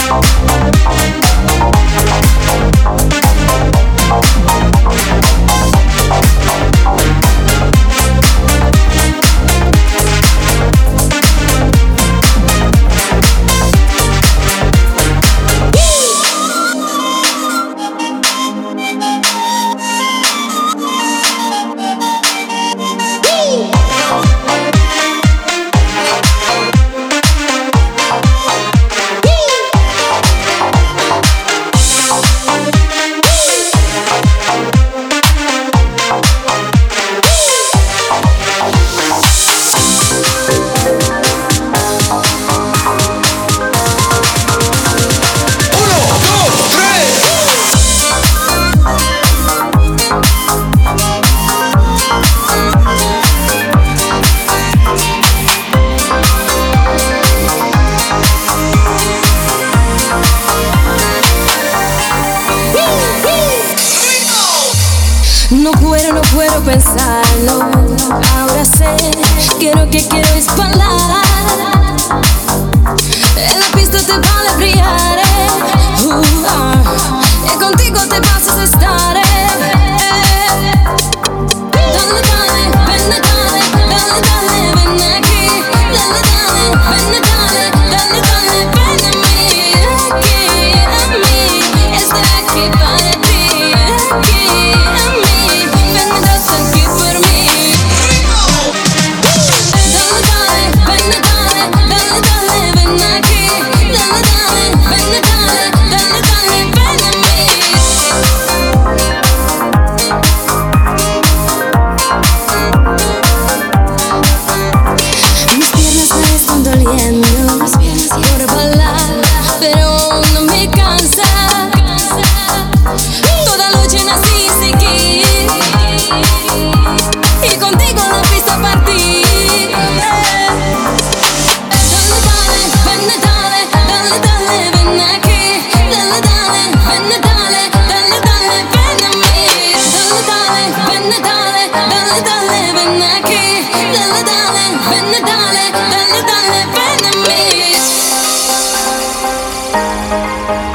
No puedo pensarlo. Ahora sé que lo que quiero es bailar. En la pista te vale brillar. Y contigo te pasas a estar. Dale, dale, ven, dale, dale, dale, ven aquí. Dale, dale, ven, dale, dale, dale, ven a mí. Aquí, a mí, estoy aquí para ti. Aquí, a mí, ven, das aquí por mí. Dale, dale, ven, dale, dale, dale, ven aquí. Dale, dale, ven, dale, dale, dale, ven a mí. Mis piernas me están doliendo por bailar, pero no me cansa. Toda noche nací y seguí, y contigo la pista partí. Dale, dale, ven, dale, dale, dale, ven aquí. Dale, dale, ven, dale, dale, dale, ven a mí. Dale, dale, ven, dale, dale, dale, ven aquí. Dale, dale, ven, dale, dale, dale, ven a mí.